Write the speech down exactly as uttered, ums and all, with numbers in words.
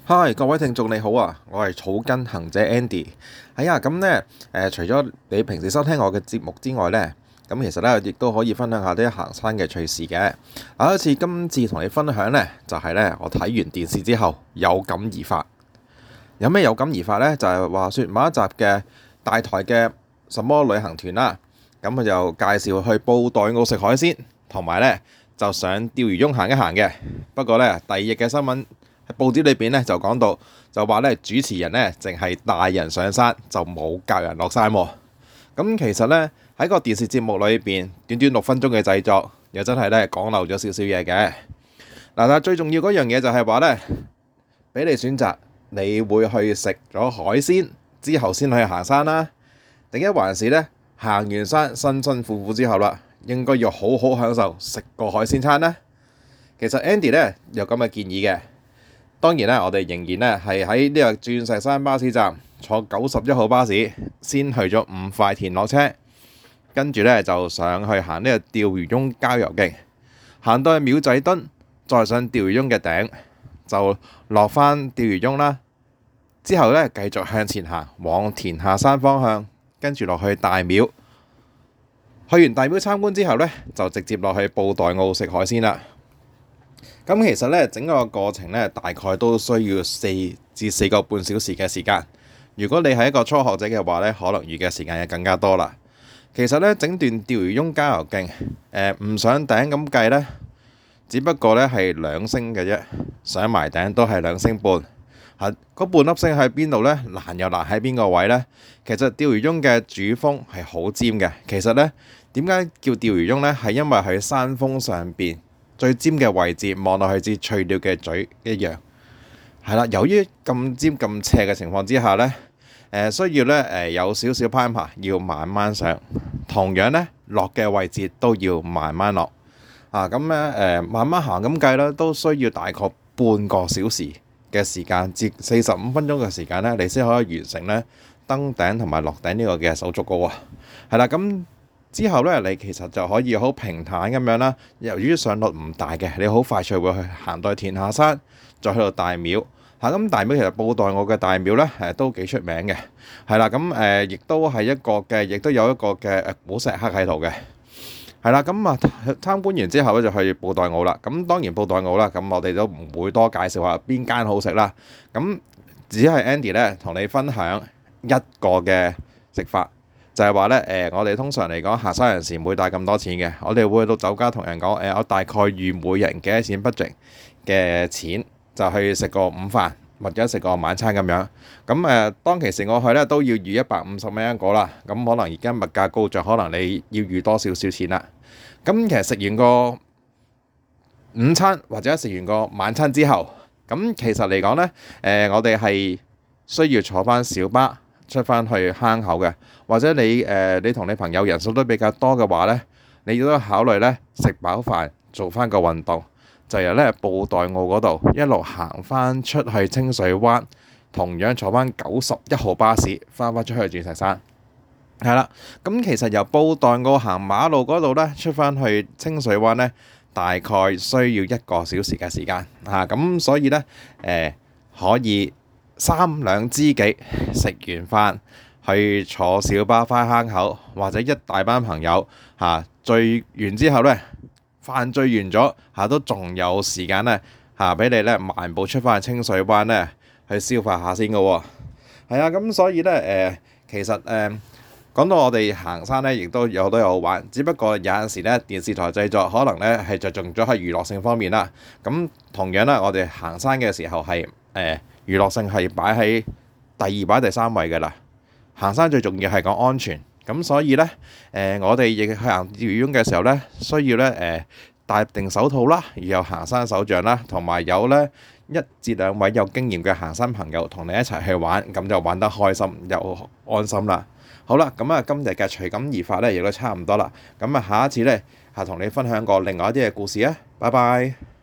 嗨，各位聽眾你好啊，我係草根行者 Andy。係啊，咁呢，誒，除咗你平時收聽我嘅節目之外呢，咁其實呢亦都可以分享下啲行山嘅趣事嘅。啊，好似今次同你分享呢，就係呢，我睇完電視之後有感而發。有咩有感而發呢？就係話說某一集嘅大台嘅什麼旅行團啦，咁佢就介紹去布袋澳食海鮮，同埋呢就上釣魚翁行一行嘅。不過呢，第二日嘅新聞喺報紙裏邊咧就講到，就話咧主持人咧淨係帶人上山，就冇教人落山喎。咁其實咧喺個電視節目裏邊，短短六分鐘嘅製作，又真係咧講漏咗少少嘢嘅。嗱，但係最重要嗰樣嘢就係話咧，俾你選擇，你會去食咗海鮮之後先去行山啦，定一還是咧行完山辛辛苦苦之後啦，應該要好好享受食個海鮮餐呢？其實 Andy 咧有咁嘅建議嘅。當然咧，我哋仍然咧係喺呢個鑽石山巴士站坐九十一號巴士，先去咗五塊田落車，跟住咧就上去行呢個釣魚翁郊遊徑，行到去廟仔墩，再上釣魚翁嘅頂，就落返釣魚翁啦。之後咧繼續向前行，往田下山方向，跟住落去大廟。去完大廟參觀之後咧，就直接落去布袋澳食海鮮啦。咁其實咧，整個過程咧，大概都需要四至四個半小時嘅時間。如果你係一個初學者嘅話咧，可能預嘅時間又更加多啦。其實咧，整段釣魚翁郊遊徑，誒唔上頂咁計咧，只不過咧係兩星嘅啫，上埋頂都係兩星半。嚇，嗰半粒星喺邊度咧？難又難喺邊個位咧？其實釣魚翁嘅主峰係好尖嘅。其實咧，點解叫釣魚翁咧？係因為喺山峰上邊最尖嘅位置，望落去似翠鳥嘅嘴一樣，係啦。由於咁尖咁斜嘅情況之下呢，誒需要咧誒有少少攀爬，要慢慢上。同樣呢，落嘅位置都要慢慢落。啊，咁咧誒慢慢行咁計啦，都需要大概半個小時嘅時間至四十五分鐘嘅時間呢，你先可以完成呢登頂同埋落頂呢個嘅手續嘅喎。係啦，咁。之後咧，你其實就可以好平坦咁樣啦。由於上落唔大嘅，你好快脆會去行到田下山，再去到大廟嚇。咁大廟其實布袋澳嘅大廟咧，誒都幾出名嘅，係啦。咁誒亦都係一個嘅，亦都有一個嘅誒古石刻喺度嘅，係啦。咁啊參觀完之後咧，就去布袋澳啦。咁當然布袋澳啦，咁我哋都唔會多介紹下邊間好食啦。咁只係 Andy 咧同你分享一個嘅食法。就係話咧，誒，我哋通常嚟講，行山人士唔會帶咁多錢嘅。我哋會去到酒家同人講，誒，我大概預每人幾多錢 budget 嘅錢，就去食個午飯或者食個晚餐咁樣。咁誒，當其時我去咧都要預一百五十蚊一個啦。咁可能而家物價高咗，可能你要預多少少錢啦。咁其實食完個午餐或者食完個晚餐之後，咁其實嚟講咧，誒，我哋係需要坐翻小巴出返去坑口嘅，或者你誒、呃、你同你朋友人數都比較多嘅話呢，你都考慮呢食飽飯做返個運動，就由呢布袋澳嗰度一路行返出去清水灣，同樣坐返九十一號巴士返返出去鑽石山。係啦，咁其實由布袋澳行馬路嗰度呢，出返去清水灣呢，大概需要一個小時嘅時間嚇，咁、啊、所以呢，誒、呃、可以。三兩知己食完飯去坐小巴返坑口，或者一大班朋友嚇聚完之後呢，飯聚完咗嚇都仲有時間呢嚇俾你呢漫步出返去清水灣呢去消化下先嘅喎。係啊，咁所以呢，誒、呃、其實誒、呃、講到我哋行山呢，亦都有好多嘢好玩。只不過有陣時呢，電視台製作可能呢係着重咗喺娛樂性方面啦。咁同樣呢，我哋行山嘅時候係誒。呃娛樂性係擺喺第二擺第三位嘅啦。行山最重要係講安全，咁所以呢，誒、呃、我哋亦去行釣魚翁嘅時候呢，需要呢誒戴定手套啦，然後行山手杖啦，同埋有呢一至兩位有經驗嘅行山朋友同你一齊去玩，咁就玩得開心又安心啦。好啦，咁啊今日嘅隨感而發呢，亦都差唔多啦。咁啊下一次呢，係同你分享過另外一啲嘅故事啊。拜拜。